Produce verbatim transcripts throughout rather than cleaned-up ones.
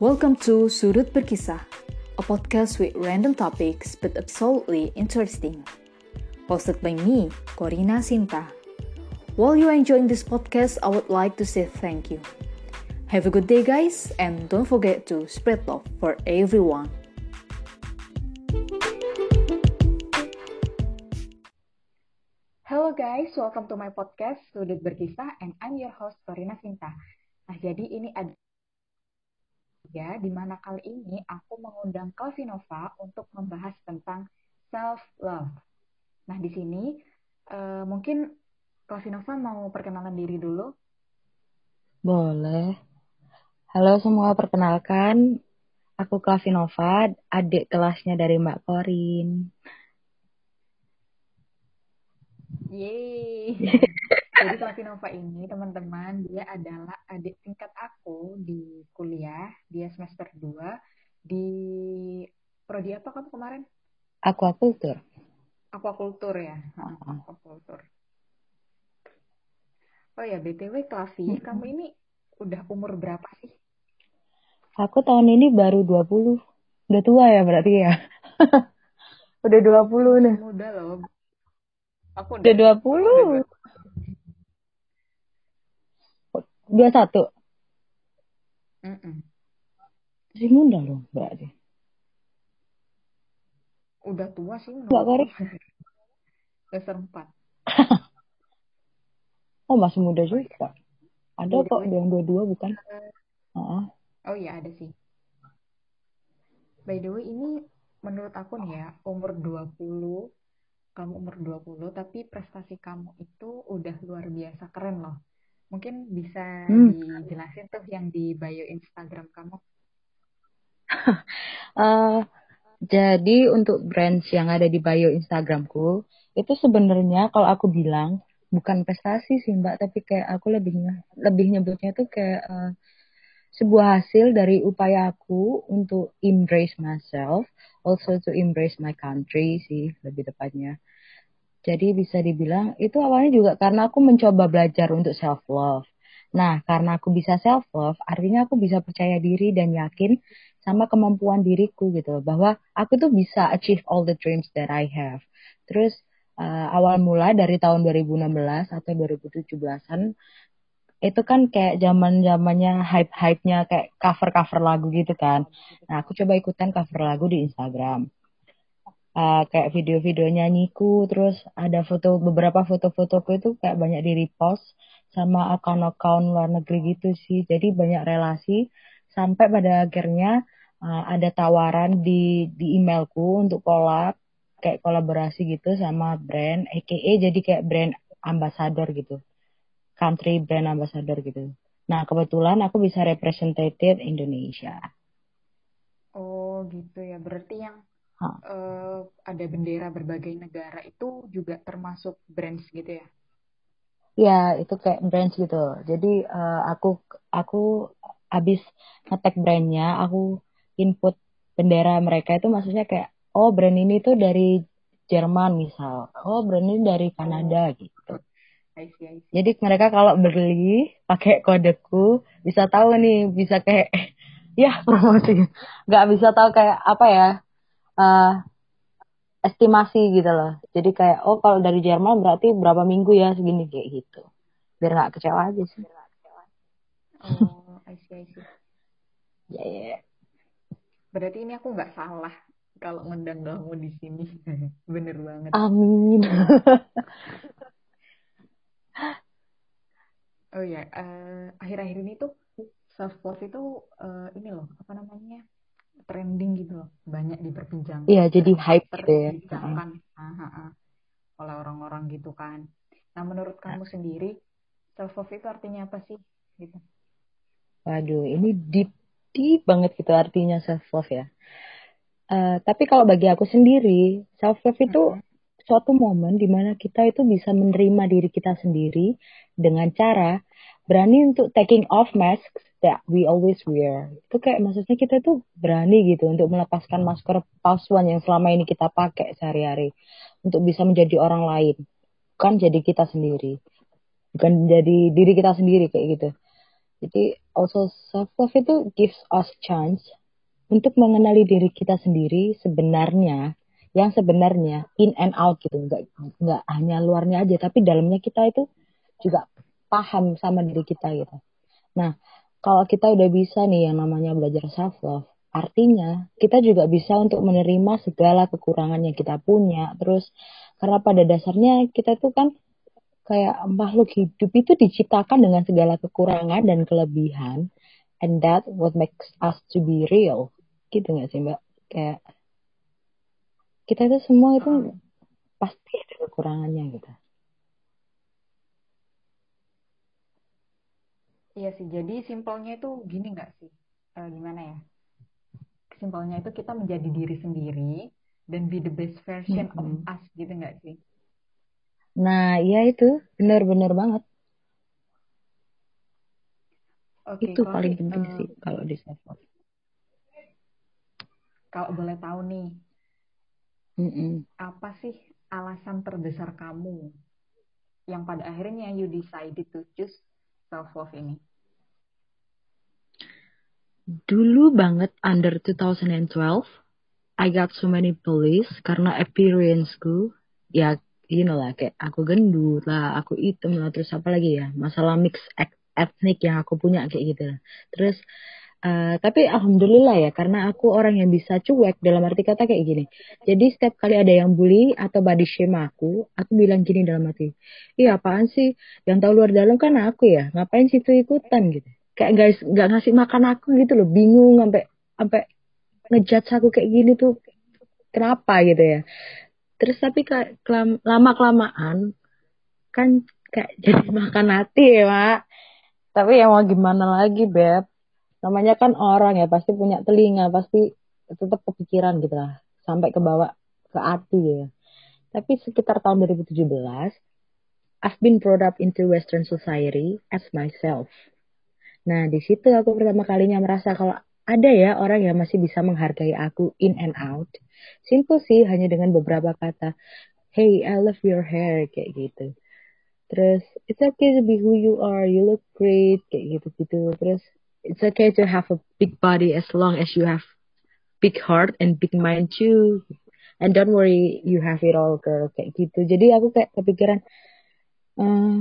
Welcome to Sudut Berkisah, a podcast with random topics but absolutely interesting. Hosted by me, Corina Sinta. While you are enjoying this podcast, I would like to say thank you. Have a good day, guys, and don't forget to spread love for everyone. Hello guys, welcome to my podcast Sudut Berkisah, and I'm your host Corina Sinta. Nah, jadi ini ada ya, di mana kali ini aku mengundang Kalvinova untuk membahas tentang self-love. Nah, di sini uh, mungkin Kalvinova mau perkenalan diri dulu. Boleh. Halo semua, perkenalkan. Aku Kalvinova, adik kelasnya dari Mbak Korin. Yeay! Jadi Kalvinova ini, teman-teman, dia adalah adik tingkat aku di kuliah. Dia semester dua di prodi apa kamu kemarin? Aquaculture. Aquaculture ya? Uh-huh. Aquaculture. Oh ya, B T W Klavi, mm-hmm. Kamu ini udah umur berapa sih? Aku tahun ini baru dua puluh. Udah tua ya berarti ya? Udah dua puluh nih. Muda loh. Aku udah, udah dua puluh. dua puluh satu. Mm-mm. Masih muda loh berarti. Udah tua sih menurut Mbak Korin? Semester empat. Oh, masih muda juga. Ada oh, kok yang dua puluh dua bukan? Uh-huh. Oh iya ada sih. By the way, ini menurut aku nih ya, umur dua puluh, kamu umur dua puluh, tapi prestasi kamu itu udah luar biasa keren loh. Mungkin bisa hmm. dijelasin tuh yang di bio Instagram kamu. uh, jadi untuk brands yang ada di bio Instagramku, itu sebenarnya kalau aku bilang, bukan prestasi sih Mbak, tapi kayak aku lebih, lebih nyebutnya tuh kayak uh, sebuah hasil dari upaya aku untuk embrace myself, also to embrace my country sih lebih tepatnya. Jadi bisa dibilang itu awalnya juga karena aku mencoba belajar untuk self love. Nah, karena aku bisa self love, artinya aku bisa percaya diri dan yakin sama kemampuan diriku gitu, bahwa aku tuh bisa achieve all the dreams that I have. Terus uh, awal mula dari tahun dua ribu enam belas atau dua ribu tujuh belasan itu kan kayak zaman-zamannya hype-hype-nya kayak cover-cover lagu gitu kan. Nah, aku coba ikutan cover lagu di Instagram. Uh, kayak video-video nyanyiku, terus ada foto, beberapa foto-fotoku itu kayak banyak di repost sama akun-akun luar negeri gitu sih. Jadi banyak relasi sampai pada akhirnya uh, ada tawaran di di emailku untuk collab, kayak kolaborasi gitu sama brand, aka jadi kayak brand ambassador gitu. Country brand ambassador gitu. Nah, kebetulan aku bisa representative Indonesia. Oh, gitu ya. Berarti yang huh. uh, ada bendera berbagai negara itu juga termasuk brands gitu ya? Ya, itu kayak brands gitu. Jadi uh, aku aku habis nge-tag brandnya, aku input bendera mereka itu maksudnya kayak, oh brand ini tuh dari Jerman misal, oh brand ini dari Kanada oh. gitu. I see, I see. Jadi mereka kalau beli pakai kodeku bisa tahu nih, bisa kayak ya promosi. Nggak bisa tahu kayak apa ya, uh, estimasi gitu loh. Jadi kayak oh kalau dari Jerman berarti berapa minggu ya segini kayak gitu. Biar nggak kecewa aja sih. Oh, I see, I see. Ya yeah, ya. Yeah. Berarti ini aku nggak salah kalau ngundang kamu di sini. Bener banget. Amin. Oh ya, uh, akhir-akhir ini tuh self love itu uh, ini loh, apa namanya, trending gitu loh, banyak diperbincangkan. Iya, jadi hype gitu ya. Diperbincangkan uh-huh. oleh orang-orang gitu kan. Nah, menurut kamu sendiri self love itu artinya apa sih? Gitu. Waduh, ini deep, deep banget gitu artinya self love ya. Uh, tapi kalau bagi aku sendiri, self love itu uh-huh. suatu momen di mana kita itu bisa menerima diri kita sendiri dengan cara berani untuk taking off masks that we always wear. Itu kayak maksudnya kita tuh berani gitu untuk melepaskan masker palsuan yang selama ini kita pakai sehari-hari untuk bisa menjadi orang lain, bukan jadi kita sendiri, bukan jadi diri kita sendiri kayak gitu. Jadi also self love itu gives us chance untuk mengenali diri kita sendiri sebenarnya, yang sebenarnya in and out gitu, nggak nggak hanya luarnya aja, tapi dalamnya kita itu juga paham sama diri kita gitu. Nah, kalau kita udah bisa nih yang namanya belajar self love, artinya kita juga bisa untuk menerima segala kekurangan yang kita punya. Terus karena pada dasarnya kita tuh kan kayak makhluk hidup itu diciptakan dengan segala kekurangan dan kelebihan, and that what makes us to be real. Gitu nggak sih Mbak? Kayak kita itu semua itu Heeh. pasti ada kekurangannya gitu. Iya sih, jadi simpelnya itu gini nggak sih? Eh, gimana ya? Simpelnya itu kita menjadi diri sendiri dan be the best version of Mm-mm. us gitu nggak sih? Nah, iya itu benar-benar banget. Oke, Itu kalau paling sih penting eh, sih kalau di self love. kalau boleh tahu nih, Mm-mm. apa sih alasan terbesar kamu yang pada akhirnya you decided to choose self love ini? Dulu banget under twenty twelve, I got so many bullies karena appearance-ku. Ya, you know lah, kayak aku gendut lah, aku hitam lah, terus apa lagi ya, masalah mix eth- etnik yang aku punya kayak gitu lah. Terus, eh, tapi alhamdulillah ya, karena aku orang yang bisa cuek dalam arti kata kayak gini. Jadi setiap kali ada yang bully atau body shame aku, aku bilang gini dalam hati, iya apaan sih, yang tahu luar dalam kan aku ya, ngapain situ ikutan gitu. Kayak guys, nggak ngasih makan aku gitu loh, bingung sampai sampai ngejudge aku kayak gini tuh kenapa gitu ya. Terus tapi lama kelamaan kan kayak jadi makan hati ya Mak. Tapi ya mau gimana lagi Beb. Namanya kan orang ya pasti punya telinga, pasti tetap kepikiran gitu lah. Sampai ke bawah ke hati ya. Tapi sekitar tahun dua ribu tujuh belas, I've been brought up into Western society as myself. Nah, di situ aku pertama kalinya merasa kalau ada ya orang yang masih bisa menghargai aku in and out. Simple sih, hanya dengan beberapa kata. Hey, I love your hair, kayak gitu. Terus, it's okay to be who you are, you look great, kayak gitu-gitu. Terus, it's okay to have a big body as long as you have big heart and big mind too. And don't worry, you have it all, girl, kayak gitu. Jadi aku kayak kepikiran, eh,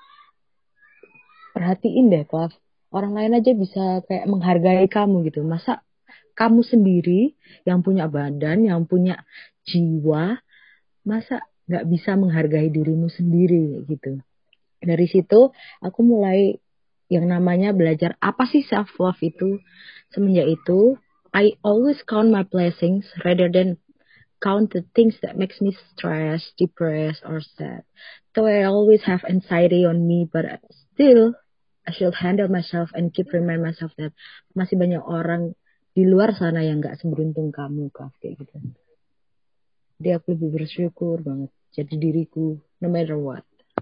perhatiin deh, Klav. Orang lain aja bisa kayak menghargai kamu gitu. Masa kamu sendiri yang punya badan, yang punya jiwa, masa nggak bisa menghargai dirimu sendiri gitu. Dari situ aku mulai yang namanya belajar apa sih self love itu. Semenjak itu, I always count my blessings rather than count the things that makes me stressed, depressed, or sad. So I always have anxiety on me, but still I should handle myself and keep remind myself that masih banyak orang di luar sana yang nggak seberuntung kamu, Kak, kayak gitu. Jadi aku lebih bersyukur banget jadi diriku, no matter what.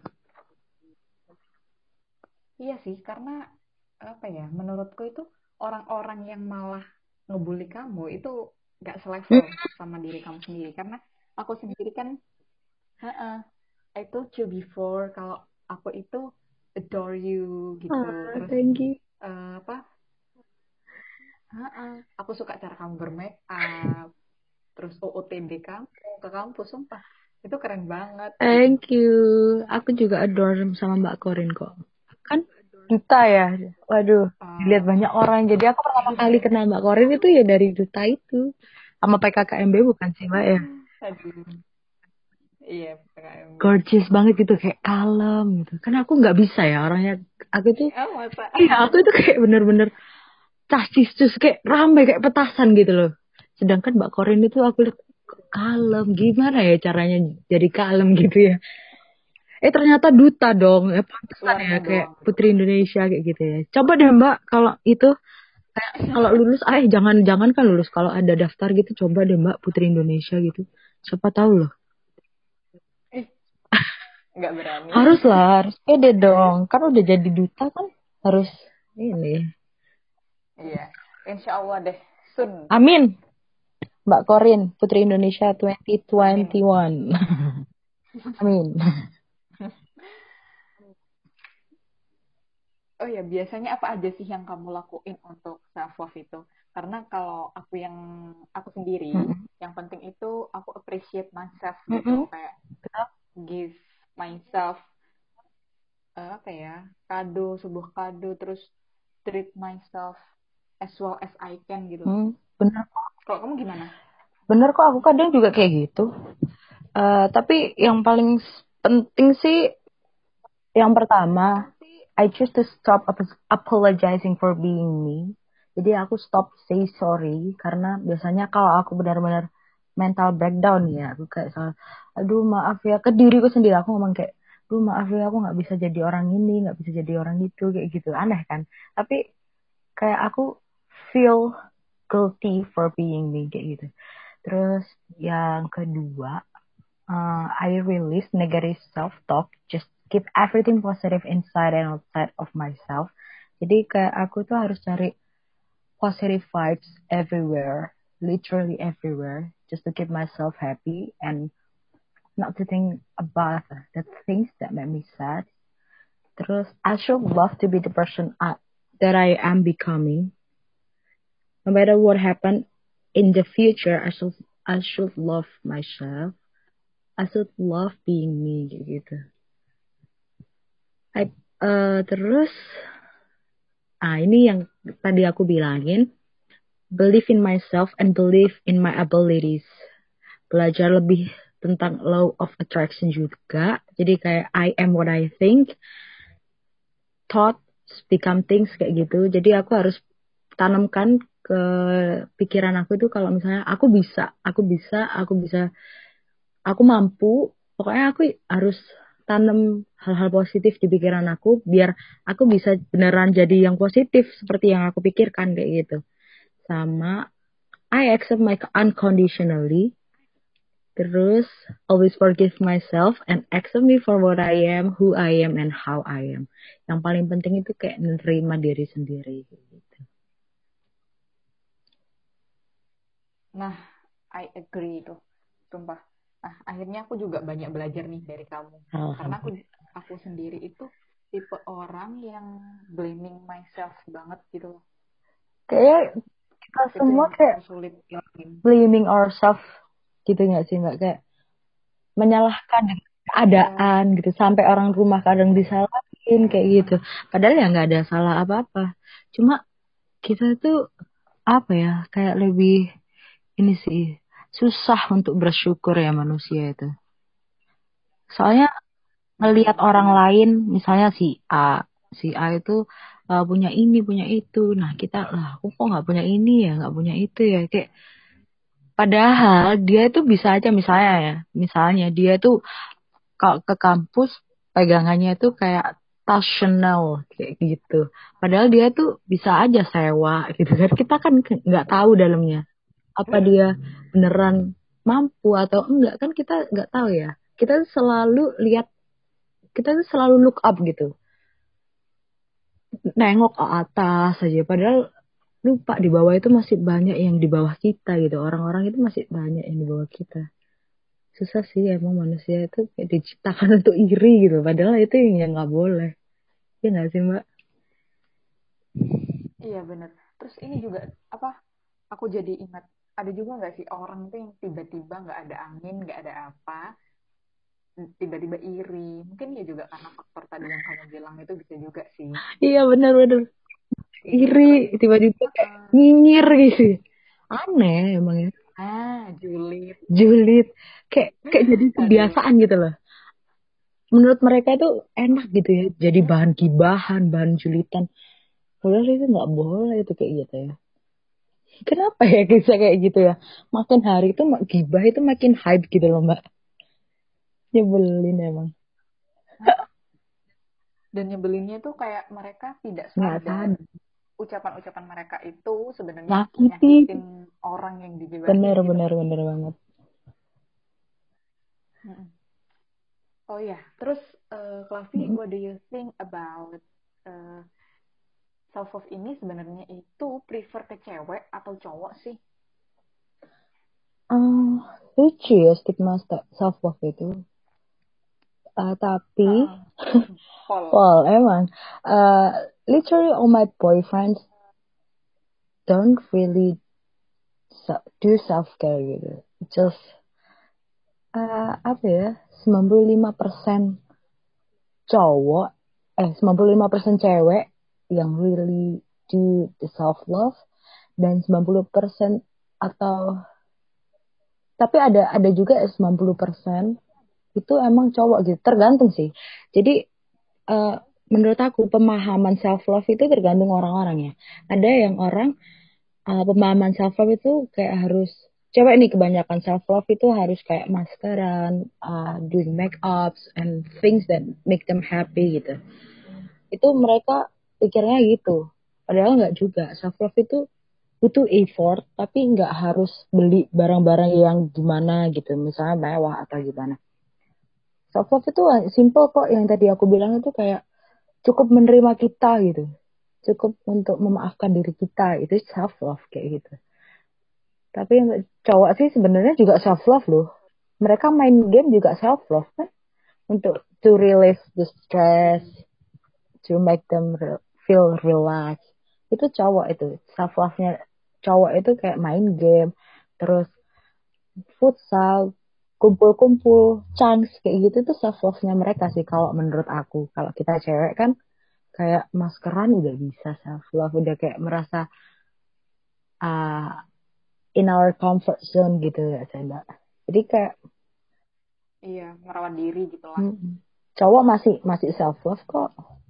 Iya sih, karena apa ya? Menurutku itu orang-orang yang malah ngebully kamu itu nggak Hmm, selevel sama diri kamu sendiri. Karena aku sendiri kan, heeh, I told you before kalau aku itu adore you gitu. ah, Terus thank you. eh, apa? Heeh, aku suka cara kamu bermake up. Terus O O T D kamu ke kampus, sumpah itu keren banget gitu. Thank you. Aku juga adore sama Mbak Korin kok. Kan Duta ya. Waduh, dilihat Ah, banyak orang. Jadi aku pertama kali kenal Mbak Korin itu ya dari Duta itu. Sama P K K M B bukan sih Mbak ya? aduh, iya P K M B. Gorgeous banget gitu, kayak kalem gitu. Karena aku nggak bisa ya orangnya. Aku tuh, Oh masa? iya aku itu kayak bener-bener cacis terus kayak rame kayak petasan gitu loh. Sedangkan Mbak Korin itu aku lihat kok kalem. Gimana ya caranya jadi kalem gitu ya? Eh ternyata duta dong. Eh pantesan ya Luarnya kayak doang. Putri Indonesia kayak gitu ya. Coba deh Mbak kalau itu kayak kalau lulus, eh jangan jangan kan lulus kalau ada daftar gitu coba deh Mbak Putri Indonesia gitu. Siapa tahu loh. Ih, nggak berani. Harus lah, harus pede dong. Kan udah jadi duta kan harus ini. Iya, insya Allah deh. Soon. Amin. Mbak Korin, Putri Indonesia Amin. dua ribu dua puluh satu. Amin. Oh ya, biasanya apa aja sih yang kamu lakuin untuk self love itu? Karena kalau aku yang aku sendiri, Mm-mm. yang penting itu aku appreciate myself gitu, Mm-mm. kayak give myself eh, apa ya, kado, sebuah kado, terus treat myself as well as I can gitu loh. Hmm, bener Kalau kamu gimana? bener kok aku kadang juga kayak gitu. Eh, tapi yang paling s- penting sih yang pertama, I choose to stop ap- apologizing for being me. Jadi aku stop say sorry karena biasanya kalau aku benar-benar mental breakdown ya, aku kayak salah, aduh maaf ya ke diriku sendiri aku ngomong kayak, aduh maaf ya aku nggak bisa jadi orang ini, nggak bisa jadi orang itu kayak gitu, aneh kan? Tapi kayak aku feel guilty for being me kayak gitu. Terus yang kedua, uh, I release negative self-talk, just keep everything positive inside and outside of myself. Jadi kayak aku tuh harus cari positive vibes everywhere, literally everywhere, just to keep myself happy and not to think about the things that make me sad. Terus, I should love to be the person I, that I am becoming. No matter what happened in the future, I should I should love myself. I should love being me gitu. I, eh, terus, ah ini yang tadi aku bilangin, believe in myself and believe in my abilities. Belajar lebih tentang law of attraction juga. Jadi kayak I am what I think, thoughts become things kayak gitu. Jadi aku harus tanamkan ke pikiran aku itu kalau misalnya aku bisa, aku bisa, aku bisa, aku mampu. Pokoknya aku harus tanam hal-hal positif di pikiran aku biar aku bisa beneran jadi yang positif seperti yang aku pikirkan kayak gitu. Sama I accept my unconditionally. Terus always forgive myself and accept me for what I am, who I am and how I am. Yang paling penting itu kayak menerima diri sendiri gitu. Nah, I agree itu, sumpah. Nah, akhirnya aku juga banyak belajar nih dari kamu. Karena aku Alhamdulillah. aku sendiri itu tipe orang yang blaming myself banget gitu loh. Kayak kita Itu semua yang kayak aku sulit hilangin. blaming ourselves gitu nggak sih mbak? Kayak menyalahkan Iya, keadaan gitu sampai orang rumah kadang disalahin kayak gitu. Padahal ya nggak ada salah apa-apa. Cuma kita tuh apa ya kayak lebih ini sih susah untuk bersyukur ya manusia itu. Soalnya ngelihat mm-mm, orang bener. lain, misalnya si A, si A itu uh, punya ini, punya itu. Nah kita lah, aku kok nggak punya ini ya, nggak punya itu ya. Kayak padahal dia itu bisa aja misalnya ya, misalnya dia tuh kalau ke kampus pegangannya itu kayak tas Chanel kayak gitu. Padahal dia tuh bisa aja sewa gitu kan. Kita kan ke- nggak tahu dalamnya. Apa dia beneran mampu atau enggak kan kita nggak tahu ya. Kita selalu lihat, kita tuh selalu look up gitu. Nengok ke atas aja. Padahal lupa di bawah itu masih banyak yang di bawah kita gitu. Orang-orang itu masih banyak yang di bawah kita. Susah sih emang manusia itu kayak diciptakan untuk iri gitu. Padahal itu yang nggak boleh. Iya nggak sih Mbak? Iya bener. Terus ini juga apa? Aku jadi ingat ada juga nggak sih orang tuh yang tiba-tiba nggak ada angin, nggak ada apa, tiba-tiba iri. Mungkin ya juga karena faktor tadi yang kamu bilang itu bisa juga sih. Iya benar-benar iri tiba-tiba kayak Heeh. nyinyir gitu. Aneh emang ya. Ah, julid. Julid. Kayak kayak jadi Aduh. kebiasaan gitu loh. Menurut mereka itu enak gitu ya. Jadi bahan Mm-mm. gibahan, bahan julitan. Padahal itu nggak boleh itu kayak gitu ya. Kenapa ya bisa kayak gitu ya? Makin hari itu mak- gibah itu makin hype gitu loh Mbak. Nyebelin emang. Dan nyebelinnya tuh kayak mereka tidak Nggak sadar sadar. ucapan-ucapan mereka itu sebenarnya Nyakiti. nyakitin orang yang digibahin Bener, gitu. bener, bener banget. Mm-mm. Oh ya, terus uh, Klavi, Mm-mm. what do you think about uh, self love ini sebenarnya itu prefer ke cewek atau cowok sih? Ah, lucu ya stigma self love itu. Ah, tapi Heeh. Pol. Paul emang. literally all my boyfriends don't really do self care gitu. Just uh, apa ya? sembilan puluh lima persen cowok eh sembilan puluh lima persen cewek yang really do the self love dan sembilan puluh persen atau tapi ada ada juga sembilan puluh persen itu emang cowok gitu. Tergantung sih. Jadi uh, menurut aku pemahaman self love itu tergantung orang-orangnya. Ada yang orang uh, pemahaman self love itu kayak harus cewek nih kebanyakan self love itu harus kayak maskeran, uh, doing make ups and things that make them happy gitu. Itu mereka pikirnya gitu. Padahal nggak juga. Self love itu butuh effort, tapi nggak harus beli barang-barang yang gimana gitu, misalnya mewah atau gimana. Self love itu simple kok, yang tadi aku bilang itu kayak cukup menerima kita gitu, cukup untuk memaafkan diri kita, itu self love kayak gitu. Tapi yang cowok sih sebenarnya juga self love loh. Mereka main game juga self love kan, untuk to release the stress, to make them re- feel relaxed. Itu cowok itu self love-nya cowok itu kayak main game, terus futsal, kumpul-kumpul, chance kayak gitu tuh self love-nya mereka sih kalau menurut aku. Kalau kita cewek kan kayak maskeran udah bisa self love, udah kayak merasa uh, in our comfort zone gitu ya saya. Jadi kayak Iya, merawat diri gitu lah. hmm, cowok masih masih self love kok.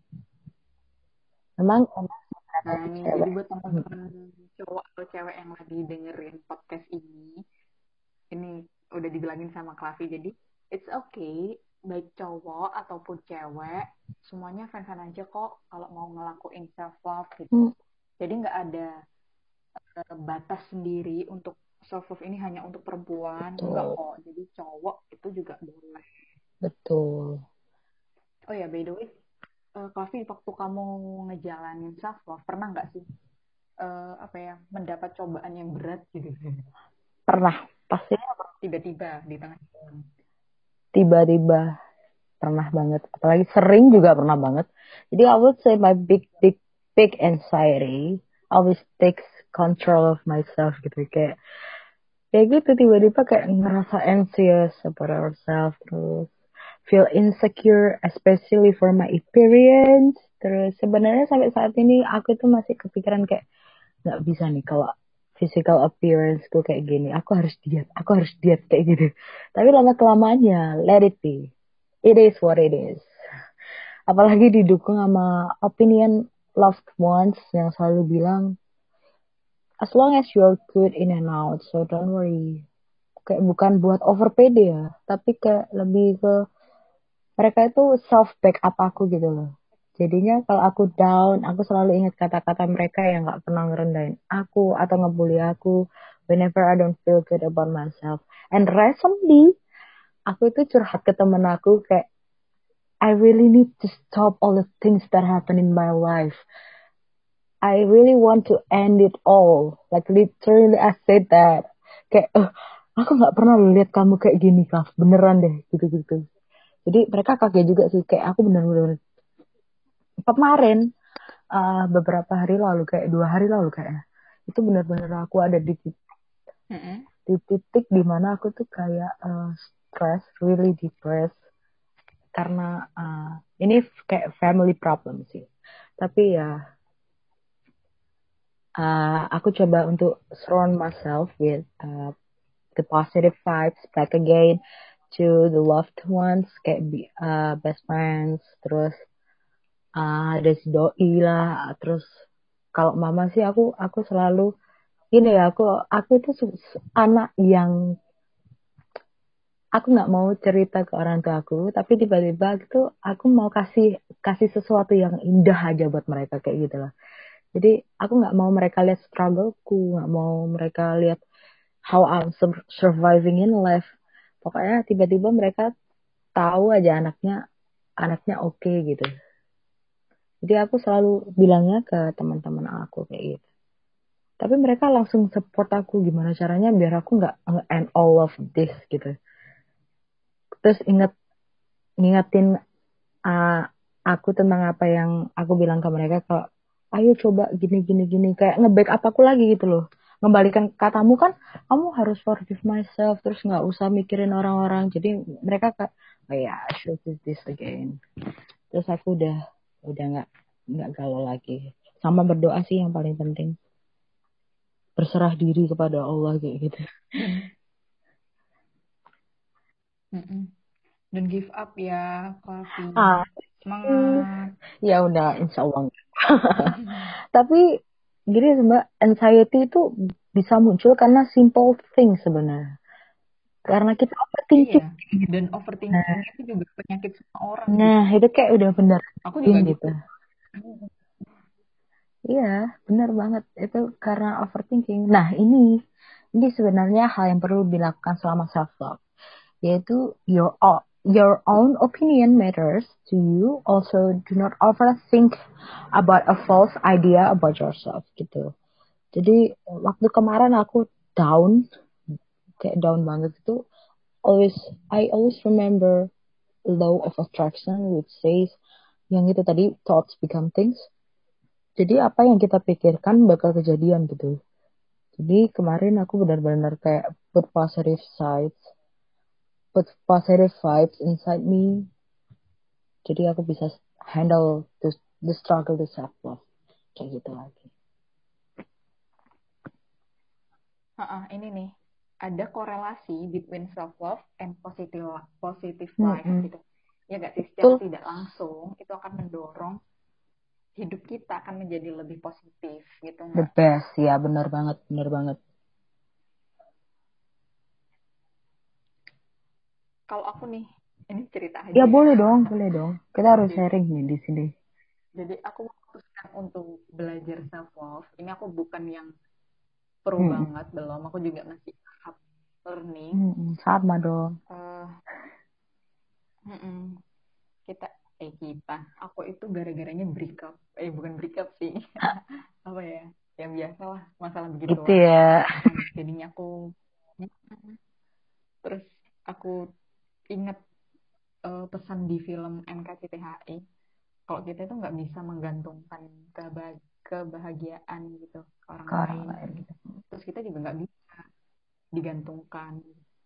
Memang emang Nah, sih ini jadi cewek. buat Hmm. teman-teman cowok atau cewek yang lagi dengerin podcast ini, ini udah dibilangin sama Klavi. Jadi, it's okay, baik cowok ataupun cewek, semuanya fan-fan aja kok kalau mau ngelakuin self love gitu. Hmm. Jadi nggak ada uh, batas sendiri untuk self love ini hanya untuk perempuan, enggak Betul, kok. Jadi cowok itu juga boleh. betul. Oh ya, by the way, uh, Klavi, waktu kamu ngejalanin self love, pernah nggak sih uh, apa ya mendapat cobaan yang berat gitu? Pernah, pasti Tiba-tiba di tengah jalan. tiba-tiba pernah banget. Apalagi sering juga pernah banget. Jadi I would say my big, big, big anxiety always takes control of myself gitu. Kayak, kayak gitu tiba-tiba kayak ngerasa anxious about ourselves. Terus feel insecure, especially for my appearance. Terus sebenarnya sampai saat ini aku tuh masih kepikiran kayak, nggak bisa nih kalau physical appearanceku kayak gini. Aku harus diet, aku harus diet kayak gitu. Tapi lama kelamaannya, let it be. It is what it is. Apalagi didukung sama opinion loved ones yang selalu bilang, as long as you're good in and out, so don't worry. Kayak bukan buat over pede ya, tapi kayak lebih ke mereka itu self backup aku gitu loh. Jadinya kalau aku down, aku selalu ingat kata-kata mereka yang gak pernah ngerendahin aku atau ngebully aku whenever I don't feel good about myself. And recently, aku itu curhat ke temen aku kayak, I really need to stop all the things that happen in my life. I really want to end it all. Like literally I said that. Kayak, eh, aku gak pernah lihat kamu kayak gini, Kak. Beneran deh, gitu-gitu. Jadi mereka kaget juga sih. Kayak aku bener-bener kemarin, uh, beberapa hari lalu, kayak dua hari lalu kayaknya. Itu bener-bener aku ada di, Mm-mm. di titik dimana aku tuh kayak uh, stress, really depressed. Karena uh, ini kayak family problem sih. Tapi ya uh, aku coba untuk surround myself with uh, the positive vibes back again to the loved ones kayak uh, best friends, terus uh, ada si doi lah, terus kalau mama sih aku aku selalu ini ya, aku aku itu anak yang aku nggak mau cerita ke orang tua aku, tapi tiba-tiba gitu aku mau kasih kasih sesuatu yang indah aja buat mereka kayak gitu lah. Jadi aku nggak mau mereka lihat struggleku, nggak mau mereka lihat how I'm surviving in life. Pokoknya tiba-tiba mereka tahu aja anaknya anaknya oke okay, gitu. Jadi aku selalu bilangnya ke teman-teman aku kayak gitu. Tapi mereka langsung support aku gimana caranya biar aku nggak end all of this gitu. Terus inget ngingetin uh, aku tentang apa yang aku bilang ke mereka kalau ayo coba gini gini gini kayak nge-backup aku lagi gitu loh. Ngembalikan katamu kan kamu harus forgive myself terus nggak usah mikirin orang-orang. Jadi mereka kayak oh ya I should do this again. Terus aku udah udah nggak nggak galau lagi. Sama berdoa sih yang paling penting. Berserah diri kepada Allah kayak gitu. Dan mm-mm. Dan give up ya, Coffee. Ah, Semangat. ya udah insya Allah. Tapi gini sih, Mbak, anxiety itu bisa muncul karena simple thing sebenarnya. Karena kita Iya. overthinking. Dan Nah, overthinking itu juga penyakit semua orang sih. nah, itu kayak udah bener Aku thing juga gitu. gitu. Iya, bener banget. Itu karena overthinking. Nah, ini ini sebenarnya hal yang perlu dilakukan selama self love, yaitu your o- your own opinion matters to you. Also, do not overthink about a false idea about yourself gitu. Jadi waktu kemarin aku down, kayak down banget itu, always I always remember law of attraction which says yang itu tadi thoughts become things. Jadi apa yang kita pikirkan bakal kejadian gitu. Jadi kemarin aku benar-benar kayak put positive sides, put positive vibes inside me. Jadi aku bisa handle the, the struggle to self love kayak gitu lagi. Ha-ha, ini nih, ada korelasi between self love and positive positive life Mm-mm. gitu. Ya gak sih, secara Betul, tidak langsung itu akan mendorong hidup kita akan menjadi lebih positif gitu the nggak? best ya, benar banget, benar banget. Kalau aku nih, ini cerita Ya aja. boleh dong, boleh dong. Kita harus Jadi, sharing nih di sini. jadi aku memutuskan untuk belajar self love. Ini aku bukan yang pro Mm-mm. banget, belum. Aku juga masih tahap learning. Mm-mm. Sama dong. Uh, kita, eh kita, aku itu gara-garanya break up. Eh bukan break up sih. Apa ya? Yang biasa lah, masalah Itu begituan. ya. Nah, jadinya aku, terus aku inget uh, pesan di film N K C T H I. Kalau kita itu nggak bisa menggantungkan keba- kebahagiaan gitu ke orang Ke orang lain. lain gitu. Terus kita juga nggak bisa digantungkan.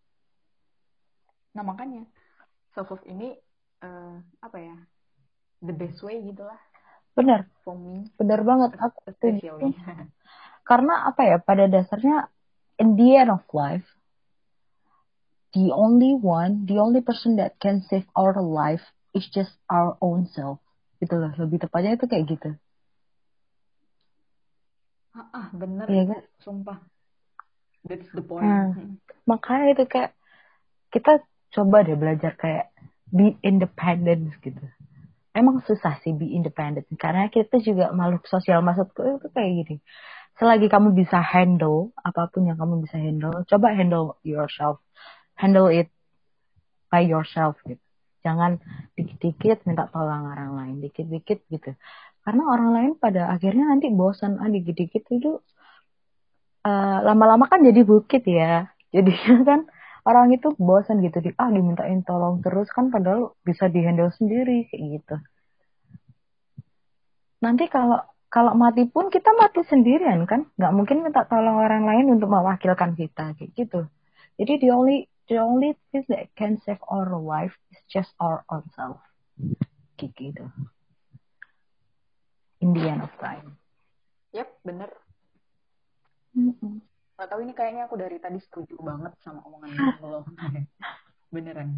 Nah makanya self love ini uh, apa ya, the best way gitulah Benar, for me benar banget. Aku setuju. especially. Karena apa ya, pada dasarnya in the end of life, the only one, the only person that can save our life is just our own self. Gitu loh, lebih tepatnya itu kayak gitu. ah, ah bener Iya itu kan? sumpah, that's the point. Hmm. Makanya itu kayak kita coba deh belajar kayak be independent gitu. Emang susah sih be independent karena kita juga makhluk sosial. Maksudku itu kayak gini. Selagi kamu bisa handle apapun yang kamu bisa handle, coba handle yourself. Handle it by yourself gitu. Jangan dikit-dikit minta tolong orang lain, dikit-dikit gitu. Karena orang lain pada akhirnya nanti bosan, ah dikit-dikit itu uh, lama-lama kan jadi bukit ya. Jadi kan orang itu bosan gitu, di, ah dimintain tolong terus kan padahal bisa dihandle sendiri kayak gitu. Nanti kalau kalau mati pun kita mati sendirian kan, nggak mungkin minta tolong orang lain untuk mewakilkan kita kayak gitu. Jadi the only the only thing that can save our life is just our own self kayak gitu. In the end of time. Yap, bener. Mm-mm. Gak tahu ini kayaknya aku dari tadi setuju banget sama omongan lo. Beneran.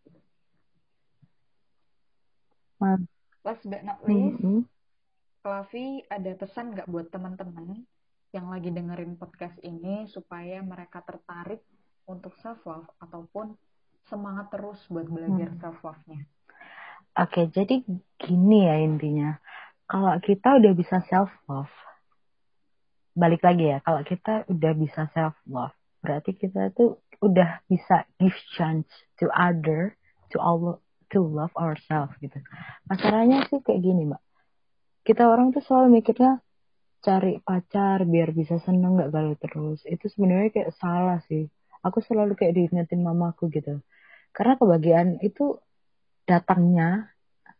Man- Last but not least, Mm-mm. Fluffy ada pesan nggak buat teman-teman yang lagi dengerin podcast ini supaya mereka tertarik untuk self love ataupun semangat terus buat belajar Mm. self love-nya? Oke, jadi gini ya intinya. Kalau kita udah bisa self love, balik lagi ya. Kalau kita udah bisa self love, berarti kita tuh udah bisa give chance to other, to all, to love ourselves gitu. Masalahnya sih kayak gini, Mbak. Kita orang tuh selalu mikirnya cari pacar biar bisa seneng nggak galau terus. Itu sebenarnya kayak salah sih. Aku selalu kayak diingetin mamaku gitu. Karena kebahagiaan itu datangnya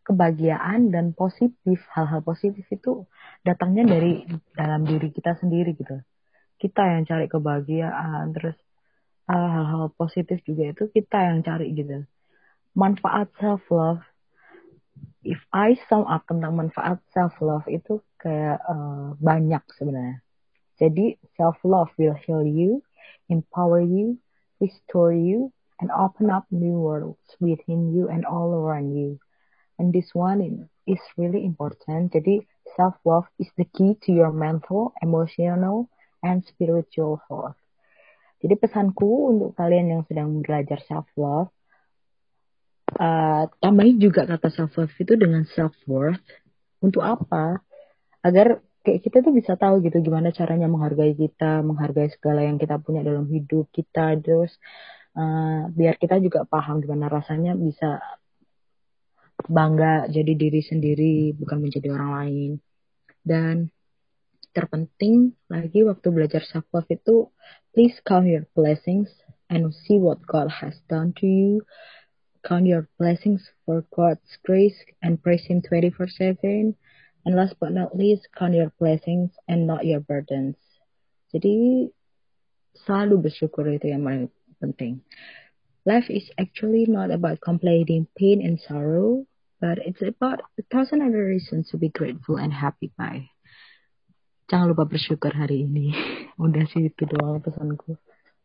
kebahagiaan dan positif, hal-hal positif itu datangnya dari dalam diri kita sendiri gitu. Kita yang cari kebahagiaan, terus uh, hal-hal positif juga itu kita yang cari gitu. Manfaat self love, if I sum up tentang manfaat self love itu kayak uh, banyak sebenarnya. Jadi self love will heal you, empower you, restore you, and open up new worlds within you and all around you. And this one is really important. Jadi self love is the key to your mental, emotional, and spiritual health. Jadi pesanku untuk kalian yang sedang belajar self love, uh, tambahin juga kata self love itu dengan self worth. Untuk apa? Agar kayak kita tuh bisa tahu gitu gimana caranya menghargai kita, menghargai segala yang kita punya dalam hidup kita, terus uh, biar kita juga paham gimana rasanya bisa bangga jadi diri sendiri, bukan menjadi orang lain. Dan terpenting lagi waktu belajar self love itu, please count your blessings and see what God has done to you. Count your blessings for God's grace and praise Him twenty-four seven. And last but not least, count your blessings and not your burdens. Jadi selalu bersyukur itu yang paling penting. Life is actually not about complaining pain and sorrow, but it's about a thousand other reasons to be grateful and happy by. Jangan lupa bersyukur hari ini. Udah sih itu doang pesanku.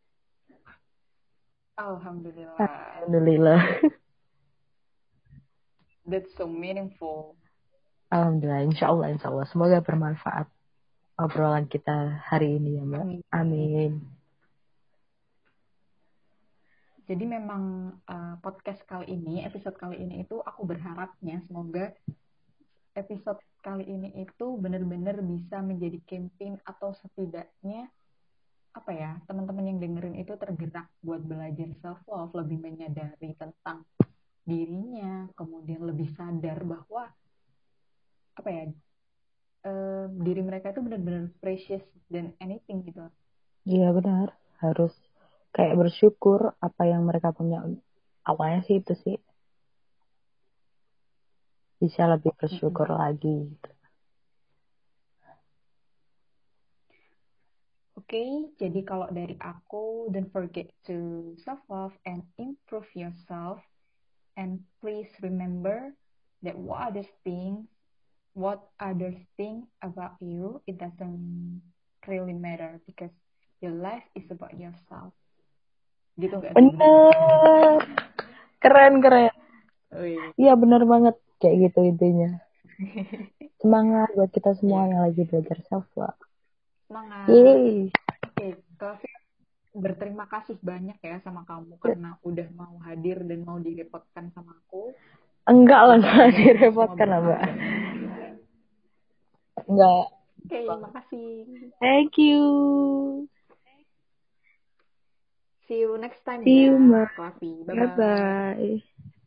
Alhamdulillah. Alhamdulillah. That's so meaningful. Alhamdulillah, insya Allah, insya Allah. Semoga bermanfaat obrolan kita hari ini ya Mbak. Amin. Amin. Jadi memang uh, podcast kali ini, episode kali ini itu aku berharapnya semoga episode kali ini itu benar-benar bisa menjadi campaign atau setidaknya apa ya, teman-teman yang dengerin itu tergerak buat belajar self love, lebih menyadari tentang dirinya, kemudian lebih sadar bahwa apa ya, uh, diri mereka itu benar-benar precious dan anything gitu. Iya benar, harus kayak bersyukur apa yang mereka punya. Awalnya sih itu sih, bisa lebih bersyukur mm-hmm. lagi gitu. Oke, okay, jadi kalau dari aku, don't forget to self-love and improve yourself. And please remember that what others think, what others think about you, it doesn't really matter because your life is about yourself. Gitu nggak sih? Bener, keren keren. Iya bener banget kayak gitu intinya. Semangat buat kita semua yeah. yang lagi belajar self-love. Semangat. Yeay. Oke, Kak, berterima kasih banyak ya sama kamu karena udah mau hadir dan mau direpotkan sama aku. Enggak lah, enggak direpotkan lah Mbak. Enggak. Oke, okay, makasih. Thank you. See you next time See ya, you, Coffee. Bye-bye. Bye-bye.